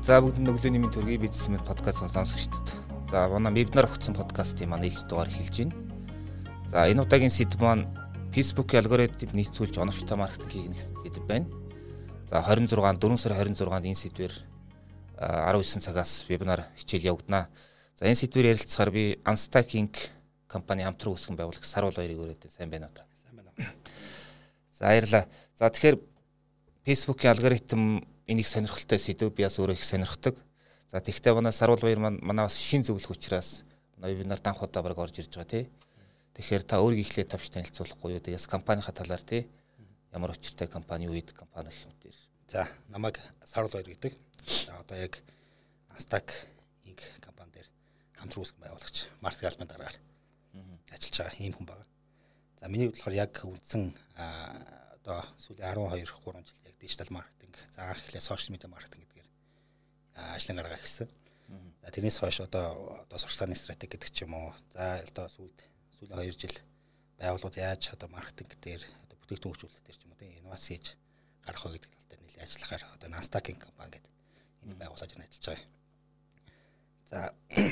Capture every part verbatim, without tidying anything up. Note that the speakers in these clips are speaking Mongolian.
За бүгд өглөөний мэнд төргий бизнес мэд подкаст сонсогчдод. За манай вебинар өгсөн подкастын маань ээлж дугаар эхэлж байна. За энэ удаагийн сэдв маань Facebook-ийн алгоритмыг нийцүүлж оновчтой маркетингийг нэгсэн сэдв байна. За хорин зургаан дөрвөн сарын хорин зургаанд энэ сэдвээр арван девять цагаас вебинар хичээл явагдана. За энэ сэдвээр ярилцахаар би Unstack Inc компани хамтран үүсгэн байгуулагч Сарвал хоёрыг өрөөд сайн байна уу? Сайн байна. За баярлалаа. За тэгэхээр Facebook-ийн алгоритм энийг сонирхолтой сэдв би бас өөрөө их сонирхдаг. За тэгвэл манай Сарвал баяр маань манай бас шин зөвлөх учраас манай вебинар данх удаа баг орж ирж байгаа тий. Тэгэхээр та өөрийгөө ихлээр тавьж танилцуулахгүй юу? Тэгээс компанийнхаа талаар тий ямар учиртай компани юу гэдэг компани гэх мэтэр. За намайг Сарвал баяр гэдэг. За одоо яг Unstack Inc компани дээр хамтран үүсгэн байгуулагч маркетинг албаны дараагаар ажиллаж байгаа ийм хүн байна. За миний хувьд болохоор яг үндсэн одоо сүүлийн арван хоёр гурван жил яг дижитал маркетинг, за анх эхлээ сошиал медиа маркетинг гэдгээр ажлын гаргаа эхэлсэн. За тэрнээс хойш одоо одоо сурталчилгааны стратеги гэдэг ч юм уу. За одоо сүүлд сүүлийн хоёр жил байгууллагууд яаж одоо маркетинг дээр одоо бүтээгдэхүүн хөгжүүлэлт дээр ч юм уу тийм инновац хийж гарах вэ гэдэг тал дээр нэлээд ажиллахаар одоо Unstack компани гэдэг энэ байгууллагад ажиллаж байгаа. За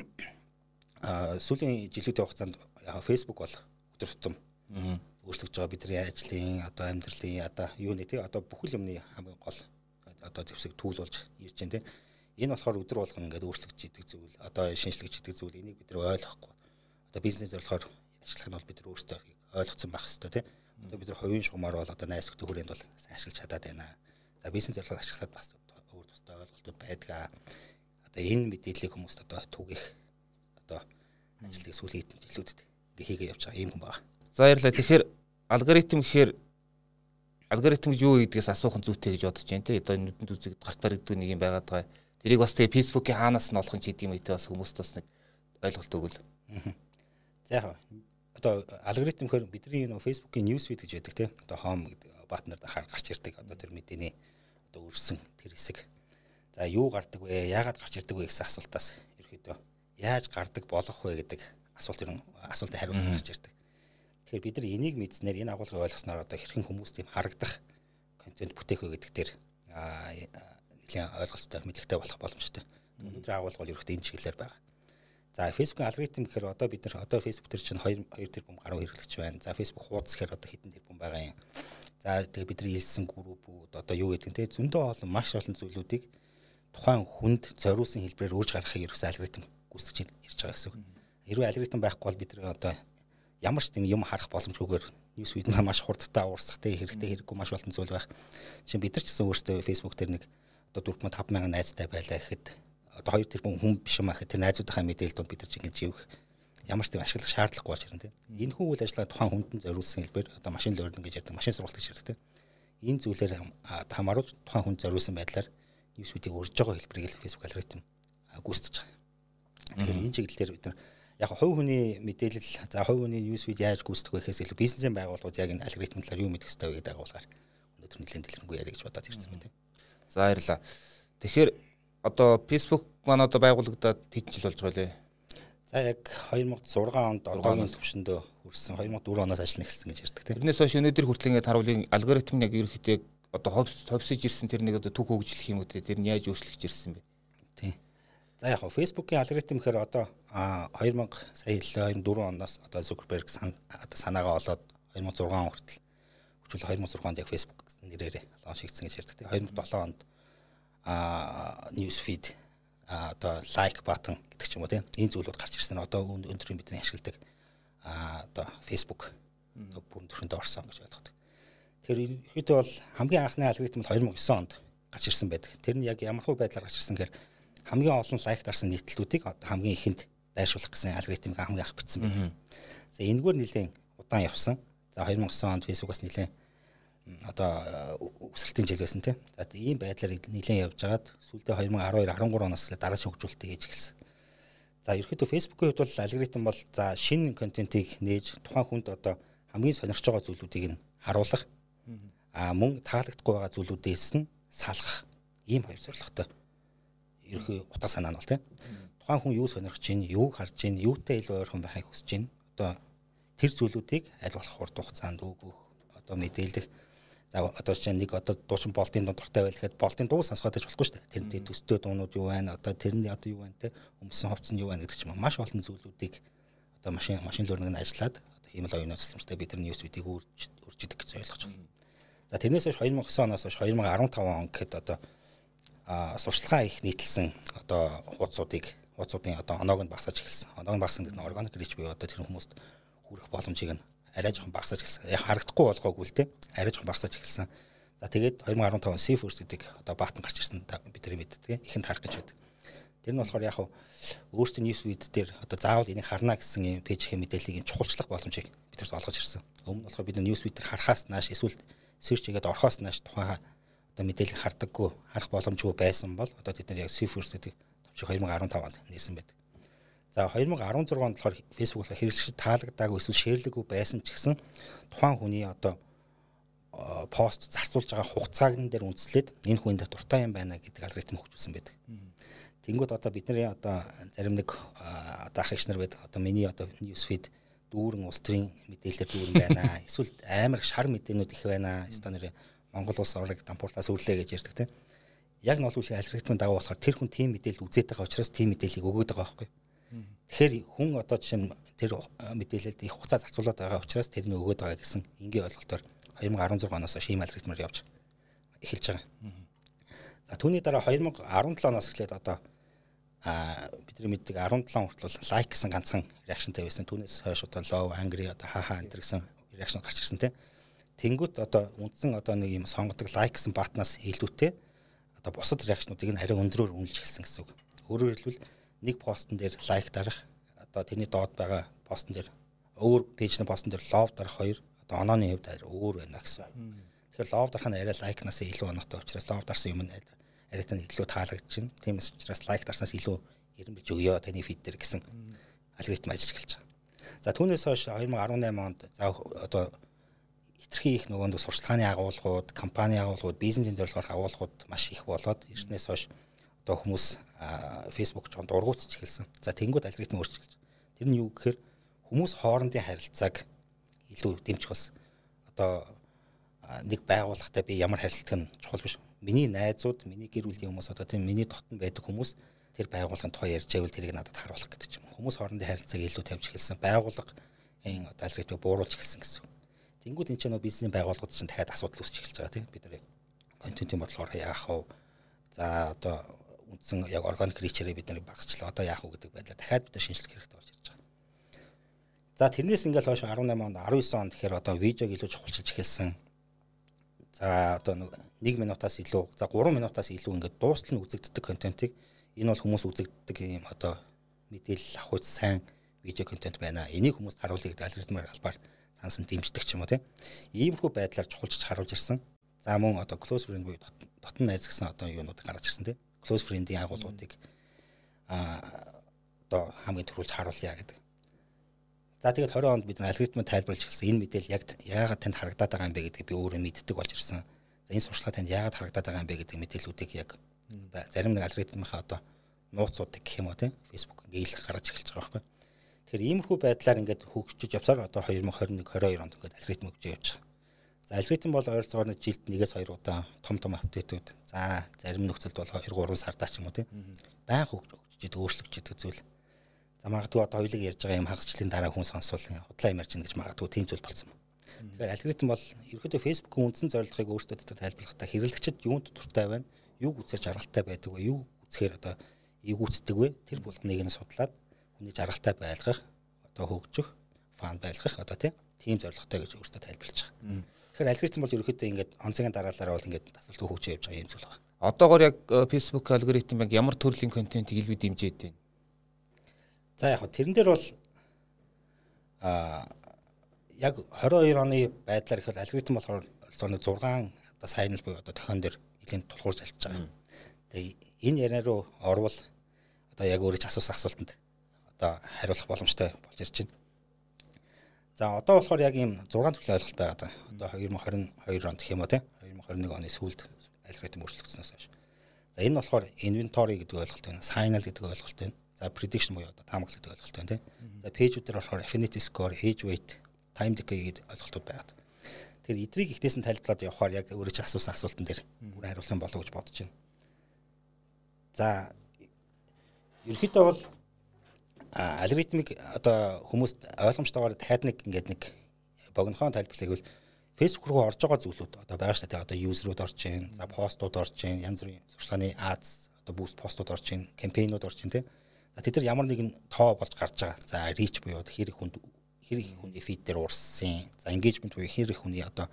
сүүлийн жилүүдийн хугацаанд яг Facebook бол өдөр тутам өөрчлөгдөж байгаа бидний ажлын одоо амьдралын одоо юу нэ тий одоо бүхэл юмны хамгийн гол одоо зэвсэг түүл болж ирж байна тий. Энэ болохоор өдөр болгон ингээд өөрчлөгдөж идэг зүйл одоо шинжлэж идэг зүйл энийг бид нар ойлгохгүй одоо бизнес зорилгоор ажиллах нь бол бид нар өөрсдөө ойлгоцсон байх хэрэгтэй тий. Одоо бид нар хувийн шугамар бол одоо найс нөхдөд хүрээнд бол сайн ашиглаж чадаад байна. За бизнес зорилгоор ашиглахад бас өөр тустай ойлголтууд байдаг. Одоо энэ мэдээллийг хүмүүст одоо түгэх одоо ажлыг сүүлийн жилүүдэд ингээ хийгээ явж байгаа юм хүн байна. За баярлалаа. Тэгэхээр алгоритм гэхээр алгоритм гэж юу гэдгээс асуух нь зүйтэй гэж бодож байна те. Одоо нүдэнд үзэгд гарт баригддаг нэг юм байгаад байгаа. Тэрийг бас тэгээ Facebook-ийн хаанаас нь олох нь ч гэдэг юм ээ бас хүмүүст бас нэг ойлголт өгвөл. За яг одоо алгоритм гэхээр бидний нөө Facebook-ийн newsfeed гэж байдаг те. Одоо home гэдэг батнаар дахаар гарч ирдэг. Одоо тэр мэдээний одоо өрсөн тэр хэсэг. За юу гардаг вэ? Яагаад гарч ирдэг вэ гэсэн асуултаас ерөөдөө яаж гардаг болох вэ гэдэг асуулт ер нь асуултын хариулт гарч ирдэг. Тэгэхээр бид нар энийг мэдснээр энэ агуулгыг ойлгосноор одоо хэрхэн хүмүүс тийм харагдах контент бүтээх вэ гэдэг дээр нэлийн ойлголттой мэдлэгтэй болох боломжтой. Өнөөдрийн агуулга бол ерөөхдөө энэ чиглэлээр байгаа. За Facebook-ийн алгоритм гэхээр одоо бид нар одоо Facebook дээр чинь хоёр тэрбум гаруй хэрэглэгч байна. За Facebook хуудас гэхээр одоо хэдэн тэрбум байгаа юм. За тэгээ бид нар илсэн группүүд одоо юу гэдэг нь те зөндөө олон маш олон зүйлүүдийг тухайн хүнд зориулсан хэлбэрээр үрж гаргахыг ерөөсөө алгоритм гүйцэтгэж ирж байгаа гэсэн үг. Хэрвээ алгоритм байхгүй бол бид нар одоо ямар ч тийм юм харах боломжгүйгээр newsfeed маш хурдтай уурсах те хэрэгтэй хэрэггүй маш олон зүйл байх. Жишээ бид нар ч гэсэн өөрсдөө Facebook дээр нэг одоо дөрвөн таван мянган найзтай байлаа гэхэд одоо хоёр тэрбум хүн биш юм аа гэхэд тэр найзуудынхаа мэдээлэлд бид нар ч ингэж живэх ямар ч тийм ашиглах шаардлагагүй болж ирнэ те. Энэ хүн үйл ажиллагаа тухайн хүндэн зориулсан хэлбэр одоо машин learning гэж яддаг машин сургалт гэж яддаг те. Энэ зүйлээр хамааруулж тухайн хүнд зориулсан байдлаар newsfeed-ийг өрж байгаа хэлбэрийг Facebook алгоритм гүйцэтгэж байгаа. Тэгэхээр энэ чиглэлээр бид нар яг хувь хүний мэдээлэл за хувь хүний newsfeed яаж гүйцэтгэх вэ гэхээс илүү бизнесийн байгууллагууд яг энэ алгоритм талаар юу мэдэх ёстой вэ гэдэг агуулгаар өнөөдөр нэлээд дэлгэрэнгүй яриа гэж бодоод ирсэн байна тийм. За баярлалаа. Тэгэхээр одоо Facebook маань одоо байгуулагдаад хэдэн жил болж байгаа лээ? За яг две тысячи шесть онд одоогийн төвшөндөө хүрсэн две тысячи четыре оноос ажиллана эхэлсэн гэж ярьдаг тийм. Тэрнээс хойш өнөөдөр хүртэл ингээд харуулын алгоритм яг ерөөхдөө одоо ховсож ирсэн тэр нэг одоо түүх хөгжлөх юм үү те тэр нь яаж өөрчлөгдөж ирсэн бэ? Тийм. За яг Facebook-ийн алгоритм гэхээр одоо две тысячи сая две тысячи четыре оноос одоо Zuckerberg одоо санаагаа олоод две тысячи шесть он хүртэл хүчил две тысячи шесть онд яг Facebook гэсэн нэрээр лонч хийгдсэн гэж ярьдаг тийм. две тысячи seven онд а newsfeed одоо like button гэдэг ч юм уу тийм энэ зүйлүүд гарч ирсэн. Одоо өнөөдрийн бидний ашигладаг а одоо Facebook одоо бүрэн төрөнд орсон гэж ойлгодог. Тэгэхээр ихэд бол хамгийн анхны алгоритм бол две тысячи нine онд гарч ирсэн байдаг. Тэр нь яг ямар хөө байдлаар гарч ирсэн гэхээр хамгийн олон лайк дарсан нийтлэлүүдийг хамгийн ихэнд байршуулах гэсэн алгоритмыг хамгийн анх бичсэн байдаг. За энэгээр нэлээд удаан явсан. За две тысячи nine онд Facebook-аас нэлээд одоо өсөлтийн жил байсан тийм. За ийм байдлаар нэлээд явж байгаад сүүлдээ две тысячи twelve13 оноос дараагийн хөгжүүлэлтийг хийж эхэлсэн. За ерөөхдөө Facebook-ийн хувьд бол алгоритм бол за шинэ контентийг нээж тухайн хүнд одоо хамгийн сонирхож байгаа зүйлүүдийг нь харуулах а мөн таалагдахгүй байгаа зүйлүүдээс нь салгах ийм хоёр зорилготой. Ерхий утга санаа нь бол тийм. Тухайн хүн юу сонирхож байна, юу харж байна, юутай илүү ойрхон байхыг хүсэж байна. Одоо тэр зүйлүүдийг аль болох хурд хугацаанд өгөх, одоо мэдээлэх. За одоо чинь нэг одоо дуучин болтын дуу дуртай байл гэхэд болтын дуу сонсгоод байж болохгүй шүү дээ. Тэрний төстэй дуунууд юу байна? Одоо тэрний одоо юу байна те? Өмсөн хувцс нь юу байна гэдэг ч юм маш олон зүйлүүдийг одоо машин машин learning нь ажиллаад одоо хиймэл оюуны системтэй бид нар news feed-ийг үрж үрж идэг гэж ойлгож байна. За тэрнээс хойш две тысячи девять оноос хойш две тысячи ф он гэхэд одоо а сурчлагаа их нийтлсэн одоо хуудсуудыг хуудсуудын одоо оноог нь багасаж эхэлсэн. Оноог нь багасан гэдэг нь organic reach буюу одоо тэр хүмүүст хүрэх боломжийг нь арай жоохон багасаж эхэлсэн. Яг харагдахгүй болгоогүй л те. Арай жоохон багасаж эхэлсэн. За тэгээд две тысячи ф он Seafirst гэдэг одоо баатан гарч ирсэн бид нар мэддэг. Ихэнд харах гэж байдаг. Тэр нь болохоор яг хав өөрсдөө news feed дээр одоо заавал энийг харна гэсэн юм пэйжийн мэдээллийг чухалчлах боломжийг бидэрт олгож ирсэн. Өмнө нь болохоор бид news feed дээр харахаас нааш эсвэл search хийгээд орохоос нааш тухайн одоо мэдээлэл хардаггүй харах боломжгүй байсан бол одоо бид нар яг Seafirst гэдэг товчиг две тысячи ф онд нээсэн байдаг. За две тысячи десять онд болохоор Facebook болохоор хэрэглэгчид таалагдаагүй эсвэл шеэрлэггүй байсан ч гэсэн тухайн хүний одоо пост зарцуулж байгаа хугацааг нь дээр үндэслээд энэ хүнд дуртай юм байна гэдэг алгоритм хөгжүүлсэн байдаг. Тэнгүүд одоо бидний одоо зарим нэг одоо ах эгч нар байдаг. Одоо миний одоо news feed дүүрэн улс төрийн мэдээлэлээр дүүрэн байна. Эсвэл амар шар мэдээнүүд их байна. Эсвэл нэр Монгол улс орныг дампуурлаас үрлээ гэж ярьдаг тийм. Яг нь бол алгоритмын дагуу болохоор тэр хүн тийм мэдээлэл үзээд байгаа учраас тийм мэдээллийг өгөөд байгаа байхгүй. Тэгэхээр хүн одоо жишээ нь тэр мэдээлэлд их хугацаа зарцуулаад байгаа учраас тэрний өгөөд байгаа гэсэн энгийн ойлголтоор две тысячи десять оноос шийм алгоритмаар явж эхэлж байгаа. За түүний дараа две тысячи десять оноос эхлээд одоо а бидний мэддэг десять хүртэл лайк гэсэн ганцхан реакшнтай байсан. Түүнээс хойш одоо low, angry одоо хаа энэ гэсэн реакшн гарч ирсэн тийм. Тэнгүүт одоо үндсэн одоо нэг юм сонгодог лайк гэсэн батнаас илүүтэй одоо бусад реакшнуудыг нь арай өндрөөр үнэлж эхэлсэн гэсэн үг. Өөрөөр хэлбэл нэг постн дээр лайк дарах одоо тэрний доод байгаа постн дээр өөр пэйжний постн дээр love дарах хоёр одоо онооны хувьд арай өөр байна гэсэн. Тэгэхээр love дарах нь арай лайкнаас илүү оноотой учраас love дарсан юм нь арай тань илүү таалагдж байна. Тиймээс учраас лайк дарснаас илүү эренбилж өгөө таны фид дээр гэсэн алгоритм ажиллаж эхэлж байгаа. За түүнээс хойш две тысячи десять онд за одоо хитрхи их нөгөө сурчлагын агуулгууд, компани агуулгууд, бизнесийн зорилгоор агуулгууд маш их болоод ирснээс хойш одоо хүмүүс Facebook жоон дургуутж эхэлсэн. За тэнгууд алгоритм өөрчлөж эхэлж. Тэр нь юу гэхээр хүмүүс хоорондын харилцааг илүү дэмжих болсон. Одоо нэг байгууллагатай би ямар харилцах нь чухал биш. Миний найзууд, миний гэр бүлийн хүмүүс одоо тийм миний дотн байдаг хүмүүс тэр байгууллагын тухай ярьж байвал тэрийг надад харуулах гэдэг юм. Хүмүүс хоорондын харилцааг илүү тавьж эхэлсэн. Байгууллага энэ одоо алгоритмыг бууруулж эхэлсэн гэсэн. Тэнгүүд энэ ч нөө бизнесийн байгууллагууд чинь дахиад асуудал үүсч эхэлж байгаа тийм. Бид нар контентын бодлогоор яах вэ? За одоо үндсэн яг organic reach-ээр бид нар багасчлаа. Одоо яах вэ гэдэг байдлаар дахиад бид нар шинжилгээ хэрэгтэй болж ирж байгаа. За тэрнээс ингээл хойш десять онд, девятнадцать онд тэгэхээр одоо видеог илүү чухалчилж эхэлсэн. За одоо нэг минутаас илүү, за три минутаас илүү ингээд дуустал нь үзэгддэг контентыг энэ бол хүмүүс үзэгддэг юм одоо мэдээлэл авах үс сайн видео контент байна. Энийг хүмүүст харуулъя гэдэг алгоритмаар албаар сансан дэмждэг ч юм уу тийм. Иймэрхүү байдлаар чухалчилж харуулж ирсэн. За мөн одоо close friend буюу дотн найз гэсэн одоо юунууд гарч ирсэн тийм. Close friend-ийн агуулгуудыг а одоо хамгийн түрүүлж харуулъя гэдэг. За тэгээд двадцать онд бид нар алгоритмыг тайлбарлаж эхэлсэн. Энэ мэдээлэл яг яагаад танд харагдаад байгаа юм бэ гэдгийг би өөрөө мэддэг болж ирсэн. За энэ сурчлага танд яагаад харагдаад байгаа юм бэ гэдэг мэдээллүүдийг яг одоо зарим нэг алгоритмынхаа одоо нууцуудыг гэх юм уу тийм Facebook ингээл гаргаж эхэлж байгаа байхгүй. Тэгэхээр иймэрхүү байдлаар ингээд хөгжиж явсаар одоо две тысячи двадцать one двадцать two онд ингээд алгоритм хөгжиж явж байгаа. За алгоритм бол ойролцоогоор нэг жилд нэгээс хоёр удаа том том апдейтүүд. За зарим нөхцөлд бол two three сардаа ч юм уу тийм байнга хөгжиж идэг өөрчлөгдөж идэг зүйл. За магадгүй одоо хоёулыг ярьж байгаа юм хагасчлалын дараа хүн сонсвол худлаа юм ярьж гин гэж магадгүй тийм зүйл болсон. Тэгэхээр алгоритм бол ерөөдөө Facebook-ийн үндсэн зорилгыг өөрсдөө тайлбарлахдаа хэрэглэгчид юунд дуртай байна, юуг үзэж жаргалтай байдаг вэ, юу үзэхээр одоо эвгүүцдэг вэ? Тэр болгоныг нь судлаад хүний жаргалтай байлгах, одоо хөгжих, фан байлгах одоо тийм зорилготой гэж өөрсдөө тайлбарлаж байгаа. Тэгэхээр алгоритм бол ерөөдөө ингээд онцгийн дараалалаар бол ингээд тасалдгүй хөгжиж явж байгаа юм зүйл байна. Одоогоор яг Facebook алгоритм яг ямар төрлийн контентийг илбий дэмжиж байна? За яг тэрэн дээр бол а яг двадцать two оны байдлаар ихэр алгоритм болохоор нэг six одоо сайнл буюу одоо тохион дээр нэлийн тулгуурж алж байгаа. Тэгээ энэ яриа руу орвол одоо яг өөрөө ч асуусан асуултанд одоо хариулах боломжтой болж ирж байна. За одоо болохоор яг ийм six төрлийн ойлголт байгаа даа. Одоо twenty twenty-two онд гэх юм уу тийм twenty twenty-one оны сүүлд алгоритм өөрчлөгдсөнөөс хойш. За энэ болохоор inventory гэдэг ойлголт байна. Signal гэдэг ойлголт байна. За prediction буюу одоо таамаглал гэдэг ойлголт байна тийм. За page дээр болохоор affinity score, age weight, time decay гэдэг ойлголтууд байгаа. Тэгэхээр эдрийг ихнээс нь тайлбарлаад явахаар яг өөрөө ч асуусан асуултан дээр бүр хариулах юм болов гэж бодож байна. За ерөнхийдөө бол алгоритмик одоо хүмүүст ойлгомжтойгоор дахиад нэг ингээд нэг богинохон тайлбарлахыг бол Facebook руу орж байгаа зүйлүүд одоо байгаа шүү дээ. Одоо юзерүүд орж ийн, за постууд орж ийн, янз бүрийн сурчлагын ads, одоо boost постууд орж ийн, кампейнууд орж ийн тийм. За тэд нар ямар нэгэн тоо болж гарч байгаа. За reach буюу хэр их хүнд хэр их хүний feed дээр уурсан. За engagement буюу хэр их хүний одоо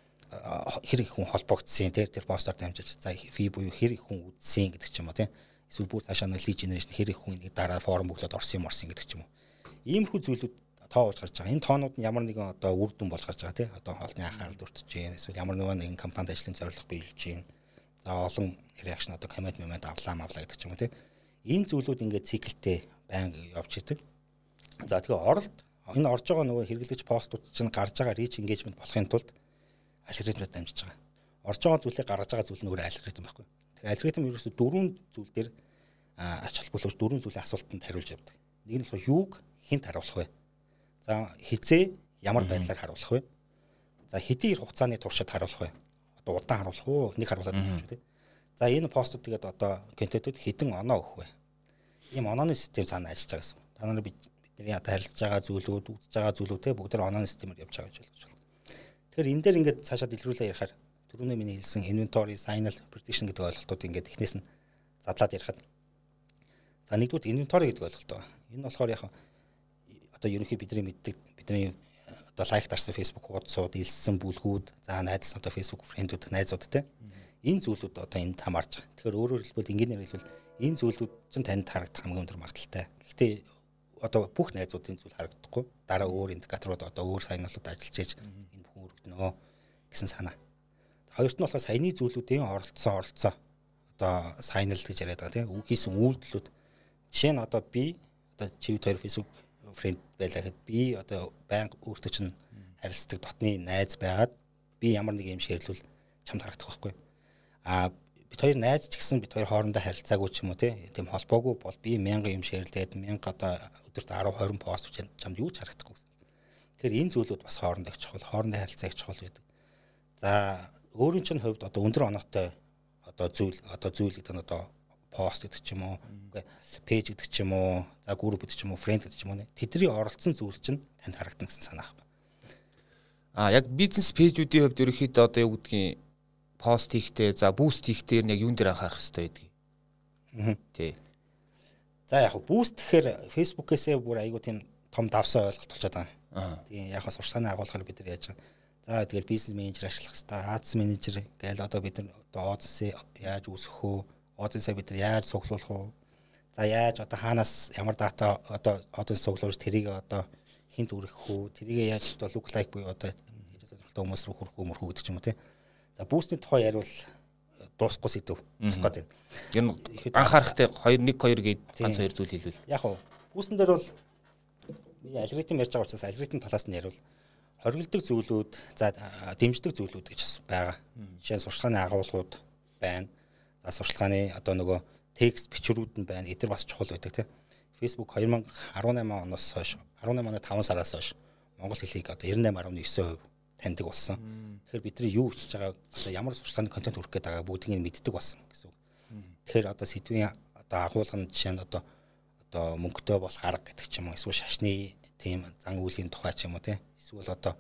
хэр их хүн холбогдсон тийм тэр постоор дамжиж. За feed буюу хэр их хүн үзсэн гэдэг ч юм уу тийм. Эсвэл бүр цаашаа нэг lead generation хэр их хүн нэг дараа форум бүглээд орсон юм орсон гэдэг ч юм уу. Иймэрхүү зүйлүүд тоо болж гарч байгаа. Энэ тоонууд нь ямар нэгэн одоо үр дүн болж гарч байгаа тийм. Одоо хоолны анхаарал өртөж जैन. Эсвэл ямар нэгэн компанид ажлын зорилго биелж जैन. За олон reaction одоо comment moment авлаа мавлаа гэдэг ч юм уу тийм. Энэ зүйлүүд ингээд циклтэй байнга явж идэг. За тэгэхээр оролт энэ орж байгаа нөгөө хэрэглэгч постууд чинь гарч байгаа reach engagement болохын тулд алгоритмд дамжиж байгаа. Орж байгаа зүйлийг гаргаж байгаа зүйл нь өөрөө алгоритм байхгүй. Тэгэхээр алгоритм ерөөсө дөрвөн зүйл дээр ач холбогдуулж дөрвөн зүйлийн асуултанд хариулж явдаг. Нэг нь болохоор юуг хинт харуулах вэ? За хизээ ямар байдлаар харуулах вэ? За хэдийн хугацааны туршид харуулах вэ? Одоо удаан харуулах уу? Нэг харуулад өгч үү те. За энэ постууд тэгээд одоо контентууд хэдэн оноо өгөх вэ? Ийм онооны систем цаана ажиллаж байгаа гэсэн. Та нарыг бидний одоо харилцаж байгаа зүйлүүд, үзэж байгаа зүйлүүд те бүгд онооны системээр явж байгаа гэж ойлгож байна. Тэгэхээр энэ дээр ингээд цаашаа дэлгэрүүлээ ярихаар түрүүний миний хэлсэн inventory, signal, prediction гэдэг ойлголтууд ингээд эхнээс нь задлаад ярихад. За нэгдүгээр inventory гэдэг ойлголт байгаа. Энэ болохоор яг одоо ерөнхий бидний мэддэг бидний одоо лайк дарсан Facebook хуудсууд, илссэн бүлгүүд, за найз одоо Facebook фрэндүүд, найзууд те. Энэ зүйлүүд одоо энд хамаарч байгаа. Тэгэхээр өөрөөр хэлбэл ингээр хэлбэл энэ зүйлүүд чинь танд харагдах хамгийн өндөр магадaltaй. Гэхдээ одоо бүх найзуудын зүйл харагдахгүй. Дараа өөр индикаторууд одоо өөр сайналууд ажиллаж ийж энэ бүхэн өргөднө гэсэн санаа. Хоёрт нь болохоор саяны зүйлүүдийн оролцсон оролцоо одоо сайнал гэж яриад байгаа тийм. Үг хийсэн үйлдэлүүд. Жишээ нь одоо би одоо чивд хоёр Facebook фрэнд байлаа гэхэд би одоо байнга өөртөө чинь харилцдаг дотны найз байгаад би ямар нэг юм шеэрлүүл чамд харагдах байхгүй. А бид хоёр найз ч гэсэн бид хоёр хоорондоо харилцаагүй ч юм уу тийм холбоогүй бол би мянга юм шеэрлээд мянга одоо өдөрт десять тwenty пост хийж чамд юу ч харагдахгүй гэсэн. Тэгэхээр энэ зүйлүүд бас хоорондоо их чухал, хоорондоо харилцаа их чухал байдаг. За өөрийн чинь хувьд одоо өндөр оноотой одоо зүйл одоо зүйл гэдэг нь одоо пост гэдэг ч юм уу, пэйж гэдэг ч юм уу, за групп гэдэг ч юм уу, фрэнд гэдэг ч юм уу. Тэдний оролцсон зүйл чинь танд харагдана гэсэн санаа байна. А яг бизнес пэйжүүдийн хувьд ерөөхдөө одоо юу гэдгийг пост хийхдээ, за буст хийхдээ яг юун дээр анхаарах хэрэгтэй байдгийг. Аа. Тий. За яг буст гэхээр Facebook-ээсээ бүр айгуу тийм том давсан ойлголт болчиход байгаа. Аа. Тийм яг сурчлагын агуулгаар бид нар яаж байгаа. За тэгэл бизнес менежер ажиллах хэрэгтэй, аадс менежер гээл одоо бид нар одоо оодсыг яаж үүсгэх вэ? Оодсыг бид нар яаж цуглуулах вэ? За яаж одоо хаанаас ямар дата одоо оодс цуглуулж тэрийг одоо хинт үргэх үү? Тэрийг яаж одоо look like буюу одоо хүмүүс рүү хүрэх үү мөрхүү гэдэг ч юм уу тий. За бүүстний тухай яриул дуусахгүй сэдв болох гэдэг. Энэ анхаарахтай хоёр нэг хоёр гээд ганц хоёр зүйл хэлвэл. Яг уу бүүстэн дээр бол миний алгоритм ярьж байгаа учраас алгоритм талаас нь яриул хоригддаг зүйлүүд, за дэмждэг зүйлүүд гэж байгаа. Жишээ нь сурчлагын агуулгууд байна. За сурчлагын одоо нөгөө текст бичвэрүүд нь байна. Эдгээр бас чухал байдаг тийм. Facebook twenty eighteen оноос хойш eighteen оны five сараас хойш монгол хэлийг одоо ninety-eight point nine percent таньдаг болсон. Тэгэхээр бидний юу хийж байгаа одоо ямар сурчлагын контент хүргэх гээд байгаа бүгдийг нь мэддэг болсон гэсэн үг. Тэгэхээр одоо сэдвийн одоо агуулга нь жишээ нь одоо одоо мөнгөтэй болох арга гэдэг ч юм уу эсвэл шашны тийм зан үйлийн тухай ч юм уу тийм эсвэл одоо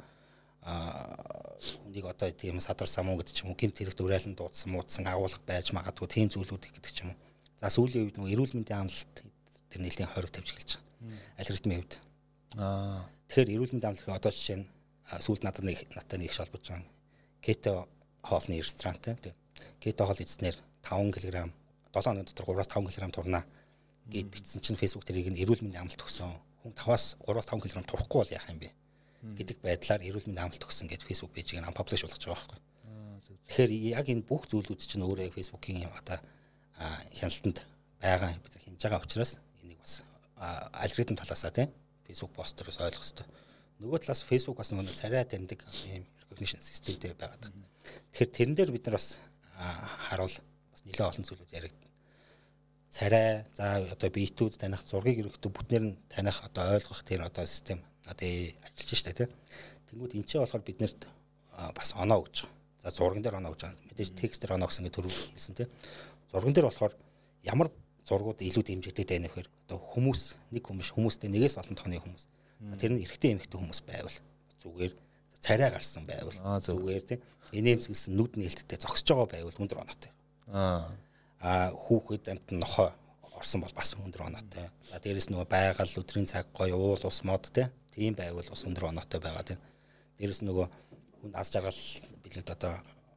хүнийг одоо тийм садар самуу гэдэг ч юм уу гэмт хэрэгт уриалан дуудсан муудсан агуулга байж магадгүй тийм зүйлүүд гэдэг ч юм уу. За сүүлийн үед нөгөө эрүүл мэндийн амлалт тэр нэлийн хориг тавьж эхэлж байгаа. Алгоритмын хувьд. Аа. Тэгэхээр эрүүл мэндийн амлалт одоо жишээ нь сүүлд надад нэг надтай нэг холбож байгаа. Кето хоолны ресторантай тийм. Кето хоол эзнэр five кг seven оны дотор three-five кг турнаа гэд бичсэн чинь Facebook тэрийг нь эрүүл мэндийн амлалт өгсөн. Хүн five-аас three-five кг турахгүй бол яах юм бэ? Гэдэг байдлаар эрүүл мэндийн амлалт өгсөн гэж Facebook пэйжийг нь паблиш болгож байгаа байхгүй. Тэгэхээр яг энэ бүх зүйлүүд чинь өөрөө Facebook-ийн одоо хяналтанд байгаа бид нар хийж байгаа учраас энийг бас алгоритм талаасаа тийм Facebook постероос ойлгох хэрэгтэй. Нөгөө талаас Facebook бас нөгөө царай таньдаг ийм recognition системтэй байгаад байна. Тэгэхээр тэрэн дээр бид нар бас харуул бас нэлээд олон зүйлүүд яригдана. Царай, за одоо биетүүд таних, зургийг ерөнхийдөө бүтнээр нь таних одоо ойлгох тэр одоо систем одоо ажиллаж штэ тийм. Тэнгүүд энэ ч болохоор биднэрт бас оноо өгч байгаа. За зурган дээр оноо өгч байгаа. Мэдээж текст дээр оноо гэсэн ингэ төрөв хэлсэн тийм. Зурган дээр болохоор ямар зургууд илүү дэмжигдээд байна вэ гэхээр одоо хүмүүс нэг хүмүүс хүмүүстэй нэгээс олон тооны хүмүүс. Тэр нь эрэгтэй эмэгтэй хүмүүс байвал зүгээр царай гарсан байвал зүгээр тийм. Инээмсэглсэн нүд нээлттэй зогсож байгаа байвал өндөр оноотой. Аа а хүүхэд амт нохоо орсон бол бас өндөр оноотой. За дээрэс нөгөө байгаль өдрийн цаг гоё уул ус мод тийм байвал бас өндөр оноотой байгаа тийм. Дээрэс нөгөө хүн аз жаргал билээд одоо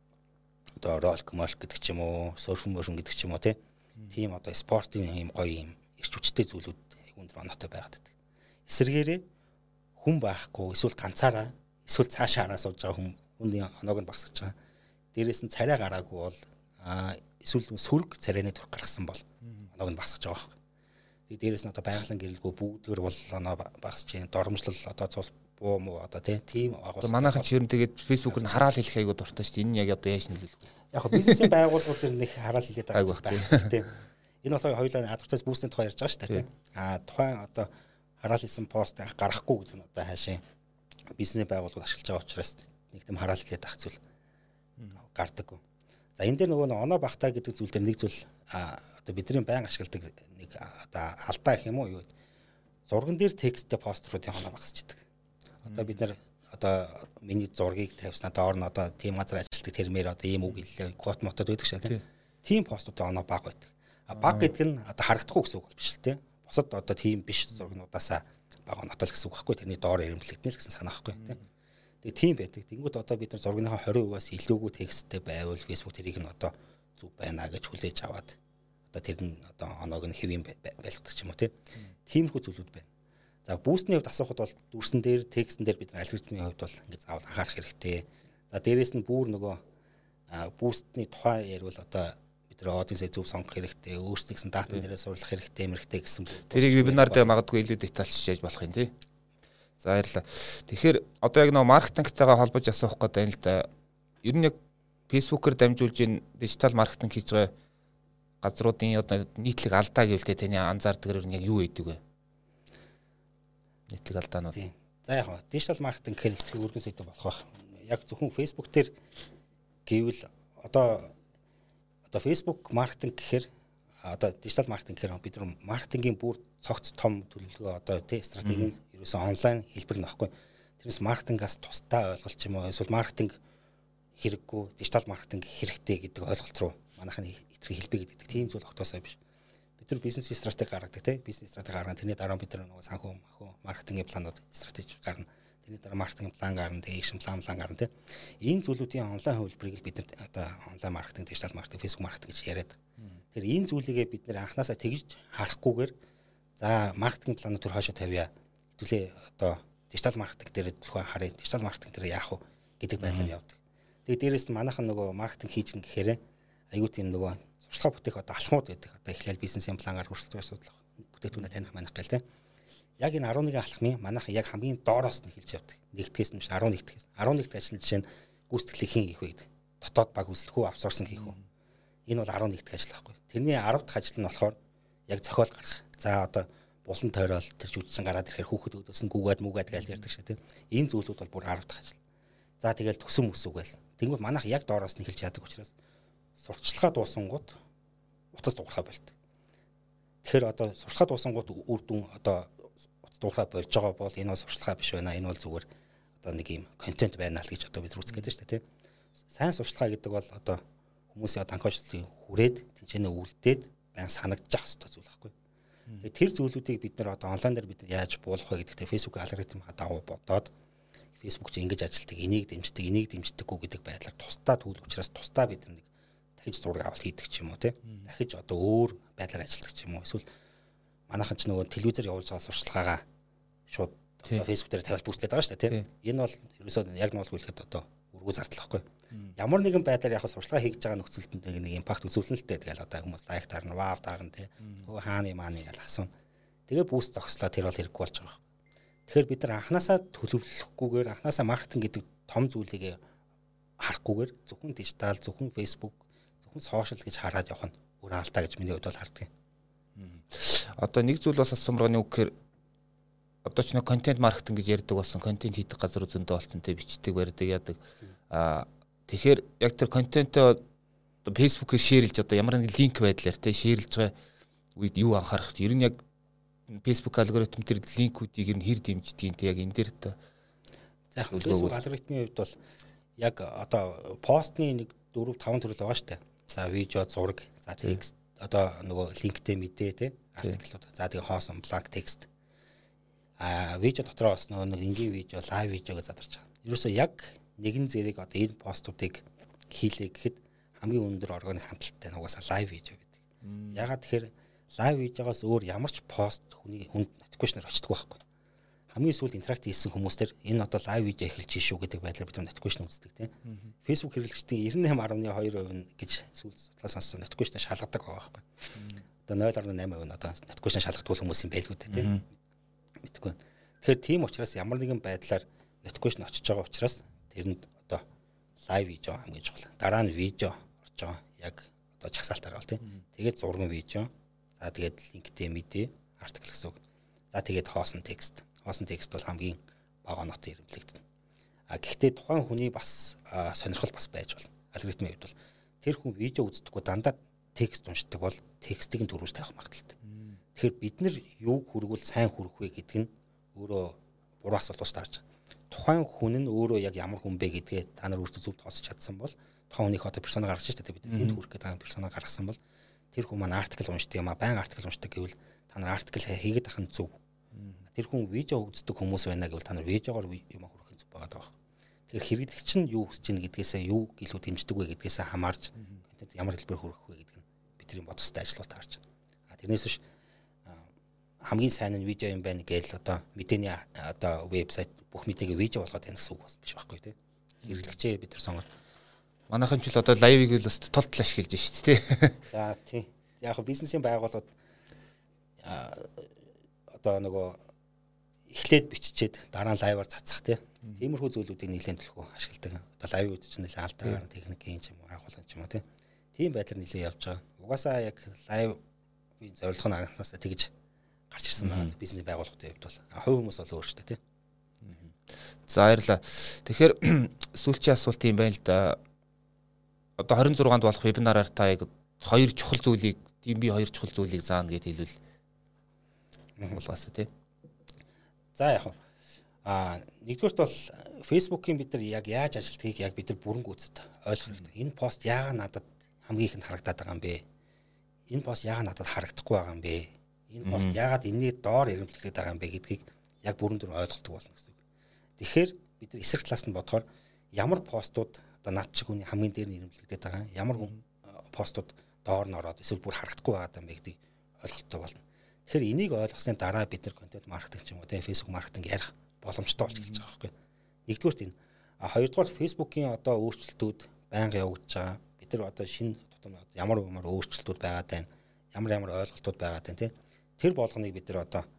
одоо ролк молк гэдэг ч юм уу, серф мөршин гэдэг ч юм уу тийм одоо спортын юм гоё юм ирч хүчтэй зүйлүүд өндөр оноотой байгаад байдаг. Эсвэргээрээ хүн байхгүй эсвэл ганцаараа эсвэл цаашаа хараа сууж байгаа хүн хүний оноог нь багасгаж байгаа. Дээрээс нь царай гараагүй бол а эсвэл сөрөг царайны төрх гаргасан бол оноог нь багасгаж байгаа байхгүй. Тэгээ дээрээс нь одоо байгалийн гэрэлгүй бүгдгэр бол оноо багасж जैन дормжлол одоо цус буу муу одоо тийм агуул. Манайхан ч ер нь тэгээд фэйсбүүкээр нь хараал хэлэх айгуу дуртай шүү дээ. Энэ нь яг одоо яаж нөлөөлөх вэ? Яг нь бизнесийн байгууллагууд төр нэг хараал хэлээд байгаа байх тийм. Энэ болохоор хоёулаа адвертайз бүүсний тухай ярьж байгаа шүү дээ тийм. А тухайн одоо хараал хэлсэн пост гаргахгүй гэдэг нь одоо хаашийн бизнесийн байгууллагууд ашиглаж байгаа учраас нэг тийм хараал хэлээд ах зүйл гардаггүй. За энэ дээр нөгөө оноо багтаа гэдэг зүйл дээр нэг зүйл одоо бидний байн ашигладаг нэг одоо алдаа гэх юм уу юу вэ? Зурган дээр тексттэй постеруудын оноо багасч идэг. Одоо бид нар одоо миний зургийг тавьснаа доор нь одоо тийм газар ажилладаг термээр одоо ийм үг хэллээ код мотод байдаг шээ тийм. Тийм постуудын оноо бага байдаг. А бага гэдэг нь одоо харагдахгүй гэсэн үг бол биш л тийм. Бусад одоо тийм биш зургнуудаасаа бага оноотой л гэсэн үг байхгүй. Тэрний доор ирэмблэгдэнэ л гэсэн санаа байхгүй тийм. Тэгээ тийм байдаг. Тэнгүүд одоо бид нар зургийнхаа twenty percent-аас илүүгүй тексттэй байвал Facebook тэрийг нь одоо зүг байна гэж хүлээж аваад одоо тэр нь одоо оноог нь хэвэн байлгадаг ч юм уу тиймэрхүү зүйлүүд байна. За бүүстний хувьд асуухад бол дүрсэн дээр текстэн дээр бид нар алгоритмын хувьд бол ингээд заавал анхаарах хэрэгтэй. За дээрэс нь бүр нөгөө бүүстний тухай ярил одоо бид нар аудиенсээ зөв сонгох хэрэгтэй, өөрсдийнхээ датан дээрээ сурлах хэрэгтэй, мэрэгтэй гэсэн. Тэрийг вебинар дээр магадгүй илүү детальчилж яаж болох юм тий. За баярлалаа. Тэгэхээр одоо яг нөгөө маркетингтайгаа холбож асуух гэдэг юм л да. Ер нь яг фэйсбүүкээр дамжуулж ин дижитал маркетинг хийж байгаа газруудын одоо нийтлэг алдаа гэвэл тэ таны анзаардаг нь яг юу гэдэг вэ? Нийтлэг алдаанууд. За яг нь дижитал маркетинг гэхээр их өргөн сэдв болох байх. Яг зөвхөн фэйсбүүк дээр гэвэл одоо одоо фэйсбүүк маркетинг гэхээр одоо дижитал маркетинг гэхээр бид нар маркетингийн бүр цогц том төлөвлөгөө одоо тий стратеги нь ерөөсөн онлайн хэлбэр нь баггүй. Тэрнээс маркетингаас тусдаа ойлголт ч юм уу эсвэл маркетинг хэрэггүй дижитал маркетинг хэрэгтэй гэдэг ойлголт руу манайхны итгэх хэлбэг гэдэг тийм зүйл огтосоо биш. Бид нар бизнес стратеги гаргадаг тий бизнес стратеги гаргана тэрний дараа бид нар нөгөө санхүү махуу маркетингийн планууд стратеги гаргана. Тэрний дараа маркетинг план гарна тий экшн план план гарна тий. Энэ зүйлүүдийн онлайн хөвлөрийг бид нар одоо онлайн маркетинг дижитал маркетинг фэйсбүүк маркетинг гэж яриад. Тэр энэ зүйлийгээ бид нэр анханасаа тэгж харахгүйгээр за маркетинг планууд төр хоошо тавья. Хэвлээ одоо дижитал маркетинг дээр төлхөө харъя. Дижитал маркетинг дээр яах вэ гэдэг байдлаар явдаг. Тэгээ дээрээс нь манайхан нөгөө маркетинг хийж гэн гэхээр аюу тийм нөгөө сурталчилгаа бүтээх одоо алхмууд байдаг. Одоо эхлээл бизнесийн плангаар хүртэл асуудал бүтээгдэхүүнээ таних манах гэл тийм. Яг энэ eleven алхмын манайхан яг хамгийн доороос нь хэлж явдаг. Нэгдгээс нь биш eleven дэх. eleven дэх ажил жишээ нь гүйцэтгэлийг хийн хийх вэ гэдэг. Дотоод баг үзлэх үү, аутсорсинг хийх үү. Энэ бол eleven дэх ажил байхгүй. Тэрний ten дахь ажил нь болохоор яг зохиол гаргах. За одоо булан тойрол тэр жүжигчин гараад ирэхээр хүүхэд өдөөс нь гүгээд мүгээд гээл ярьдаг шээ тийм. Энэ зүйлүүд бол бүр ten дахь ажил. За тэгэл төсөн mëсүүгээл. Тэнгүүл манайх яг доороос нь хэлж яадаг учраас сурталчилгаа дуусангууд утас дуурхай болт. Тэгэхээр одоо сурталчилгаа дуусангууд үр дүн одоо утас дуурхай болж байгаа бол энэ бол сурталчилгаа биш байна. Энэ бол зүгээр одоо нэг юм контент байна л гэж одоо бид үзэх гэдэг шүү дээ тийм. Сайн сурталчилгаа гэдэг бол одоо хүмүүсийн анхаачлалыг хүрээд тэнцэнэ үлдээд байн санагдчих хэвээр зүйл байхгүй. Тэгээ тэр зүйлүүдийг бид нар одоо онлайн дээр бид нар яаж буулгах вэ гэдэгтээ Facebook алгоритм хадагуу бодоод Facebook ч ингэж ажилтдаг, энийг дэмждэг, энийг дэмждэггүй гэдэг байдлаар тусдаа түүл учраас тусдаа бид нэг дахиж зураг авалт хийдэг ч юм уу тий. Дахиж одоо өөр байдлаар ажилтдаг ч юм уу. Эсвэл манайхан ч нөгөө телевизээр явуулж байгаа сурчлагаагаа шууд Facebook дээр тавиал бүүстлээд байгаа шүү дээ тий. Энэ бол ерөөсөө яг нь бол хэлэхэд одоо өргөө зардал واخгүй. Ямар нэгэн байдлаар яг сурчлага хийж байгаа нөхцөлд нэг импакт үзүүлнэ л дээ. Тэгэл одоо хүмүүс лайк таарна, вау таарна тий. Хөө хааны мааны гэж асууна. Тэгээ бүүст зогслоо тэр бол хэрэггүй болж байгаа. Тэгэхээр бид нар анханасаа төлөвлөхгүйгээр анханасаа маркетинг гэдэг том зүйлийг харахгүйгээр зөвхөн дижитал, зөвхөн Facebook, зөвхөн сошиал гэж хараад явах нь өөр алдаа гэж миний хувьд бол харддаг. Одоо нэг зүйл бас асуумрагны үг гэхээр одоо ч нэг контент маркетинг гэж ярьдаг болсон, контент хийдэг газар зөндөө болсон, тэ бичдэг, барьдаг, яадаг. Аа тэгэхээр яг тэр контентоо Facebook-ээр шеэрлж одоо ямар нэг линк байдлаар тэ шеэрлж байгаа үед юу анхаарах вэ? Ер нь яг Facebook алгоритм тэр линкүүдийг нь хэр дэмждэг юм те яг энэ дээр та. За яг Facebook алгоритмын хувьд бол яг одоо постны нэг дөрөв таван төрөл байгаа шүү дээ. За видео, зураг, за текст, одоо нөгөө линктэй мэдээ те артиклууд. За тэгээ хоосон бланк текст. А видео дотроо бас нөгөө нэг энгийн видео, лайв видео гэж задарч байгаа. Ерөөсөө яг нэгэн зэрэг одоо энэ постуудыг хийлээ гэхэд хамгийн өндөр органик хандлттай нугасаа лайв видео гэдэг. Ягаад тэгэхээр лайв видеогоос өөр ямар ч пост хүний хүнд notification-аар очдөг байхгүй. Хамгийн сүүлд интеракт хийсэн хүмүүстэр энэ одоо лайв видео эхэлж шүү гэдэг байдлаар бид notification үздэг тийм. Facebook хэрэглэгчдийн девятнадцать дасмал two percent гэж сүүлд судлаа сонссон notification шалгадаг байгаа байхгүй. Одоо ноль дасмал eight percent одоо notification шалгадаг хүмүүс юм байлгүй тийм. Мэдгүй. Тэгэхээр тийм учраас ямар нэгэн байдлаар notification очиж байгаа учраас тэрэнд одоо лайв видео хамгийн чухал. Дараа нь видео орж байгаа. Яг одоо чагсаалтаар бол тийм. Тэгээд зурган видео. За тэгээд линктэй мэдээ, артикл гэсэн үг. За тэгээд хоосон текст. Хоосон текст бол хамгийн бага нотон ирэмблэгдэнэ. А гэхдээ тухайн хүний бас сонирхол бас байж бол алгоритмын хувьд бол тэр хүн видео үздэггүй дандаа текст уншдаг бол текстийг нь төрүүлж тавих магадaltaй. Тэгэхээр бид нар юуг хүргүүл сайн хүрэх вэ гэдэг нь өөрөө буруу асуулт болж таарч. Тухайн хүн нь өөрөө яг ямар хүн бэ гэдгээ та нар өөрсдөө зөв тооцож чадсан бол тухайн хүнийх одоо персона гаргаж штэ бид энд хүрэх гэдэг персона гаргасан бол тэр хүн маань артикл уншдаг юм а байн артикл уншдаг гэвэл та нар артикл хийгээд ахын зөв. Тэр хүн видео үздэг хүмүүс байна гэвэл та нар видеогоор юм хүрэх зөв байгаа даа. Тэгэхээр хэрэглэгч нь юу хүсэж байна гэдгээсээ юу илүү дэмждэг вэ гэдгээсээ хамаарч контент ямар хэлбэр хүрэх вэ гэдэг нь бидний бодох ёстой ажлууд таарч. А тэрнээс биш хамгийн сайн нь видео юм байна гээл одоо мэдээний одоо вебсайт бүх мэдээгээ видео болгоод байна гэсэн үг бас биш байхгүй тий. Хэрэглэгчээ бид нар сонгоод манайхан ч л одоо лайвыг л бас толтол ашиглаж шүү дээ тий. За тий. Яг нь бизнесийн байгууллагууд одоо нөгөө эхлээд биччихэд дараа нь лайваар цацах тий. Тиймэрхүү зүйлүүдийг нэлээд төлхөө ашигладаг. Одоо лайв үүд чинь нэлээд алдартай техникийн юм уу агуулгын юм уу тий. Тийм байдлаар нэлээд явж байгаа. Угаасаа яг лайвын зорилго нь анхнаасаа тэгж гарч ирсэн байна. Бизнесийн байгууллагуудын хувьд бол хувь хүмүүс бол өөр шүү дээ тий. За баярлалаа. Тэгэхээр сүүлчийн асуулт юм байна л да. Одоо twenty-six дунд болох вебинараар та яг хоёр чухал зүйлийг, тийм би хоёр чухал зүйлийг заана гэж хэлвэл болгоосоо тий. За яг аа нэгдүгээрт бол Facebook-ийн бид нар яг яаж ажилтгийг яг бид нар бүрэн гүйцэд ойлгох хэрэгтэй. Энэ пост яагаад надад хамгийн ихэнд харагдаад байгаа юм бэ? Энэ пост яагаад надад харагдахгүй байгаа юм бэ? Энэ пост яагаад энэний доор ирэмтлэгдээд байгаа юм бэ гэдгийг яг бүрэн дүр ойлголдог болно гэсэн үг. Тэгэхээр бид нар эсрэг талаас нь бодохоор ямар постууд одоо над шиг хүний хамгийн дээр нь ирэмтлэгдээд байгаа, ямар постууд доор нь ороод эсвэл бүр харагдахгүй байгаа юм бэ гэдгийг ойлголттой болно. Тэгэхээр энийг ойлгосны дараа бид нар контент маркетинг ч юм уу тийм Facebook маркетинг ярих боломжтой болж эхэлж байгаа байхгүй. Нэгдүгээрт энэ. А хоёрдугаар Facebook-ийн одоо өөрчлөлтүүд байнга явагдаж байгаа. Бид нар одоо шинэ тутам ямар ямар өөрчлөлтүүд байгаад байна. Ямар ямар ойлголтууд байгаад байна тийм. Тэр болгоныг бид нар одоо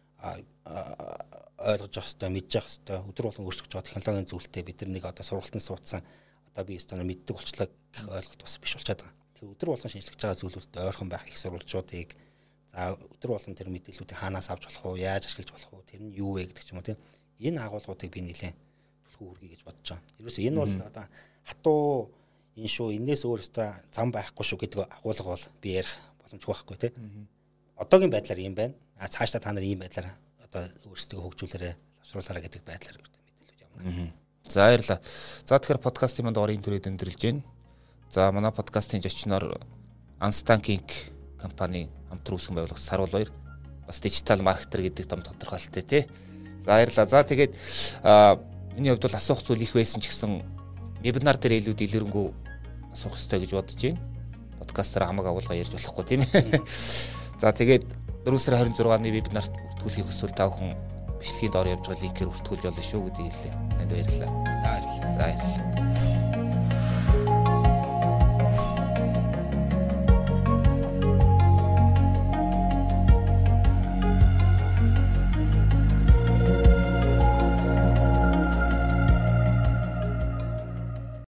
ойлгож явах хэрэгтэй, мэдж явах хэрэгтэй. Өдөр болгон өөрчлөгдөж байгаа технологийн зүйлтэй бид нар нэг одоо сургалтанд суудсан одоо би өстө мэддэг болчлаа гэх ойлголт бас биш болчиход байгаа. Тэр өдөр болгон шинжлэж байгаа зүйлүүдэд ойрхон байх их сурвалжуудыг за өдөр болгон тэр мэдээллүүдийг хаанаас авч болох уу, яаж ашиглаж болох уу, тэр нь юу вэ гэдэг ч юм уу тийм. Энэ агуулгуудыг би нэлээд түлхүү хүргэе гэж бодож байгаа. Ерөөсөө энэ бол одоо хатуу энэ шүү, энээс өөр өстө зам байхгүй шүү гэдэг агуулга бол би ярих боломжгүй байхгүй тийм. Одоогийн байдлаар юм байна. А цаашдаа та нар ийм байдлаар одоо өөрсдөө хөгжүүлээрэ, лавшруулаарай гэдэг байдлаар мэдээлэл явуулна. За баярлалаа. За тэгэхээр подкастын манд орын төрөд өндөрлж байна. За манай подкастын зочноор Unstanking компани хамтран үүсгэн байгуулагч Сарвал Баяр бас дижитал маркетер гэдэг том тодорхойлолттой тий. За баярлалаа. За тэгээд миний хувьд бол асуух зүйл их байсан ч гэсэн вебинар дээр илүү дэлгэрэнгүй асуух хэрэгтэй гэж бодож байна. Подкастаар хамаг агуулга ярьж болохгүй тийм ээ. За тэгээд four сарын twenty-six-ны вебинарт бүртгүүлэхийг хүсвэл та бүхэн бичлэгийн доор явж байгаа линкээр бүртгүүлж болно шүү гэдгийг хэлээ. Танд баярлалаа. За баярлалаа. За баярлалаа.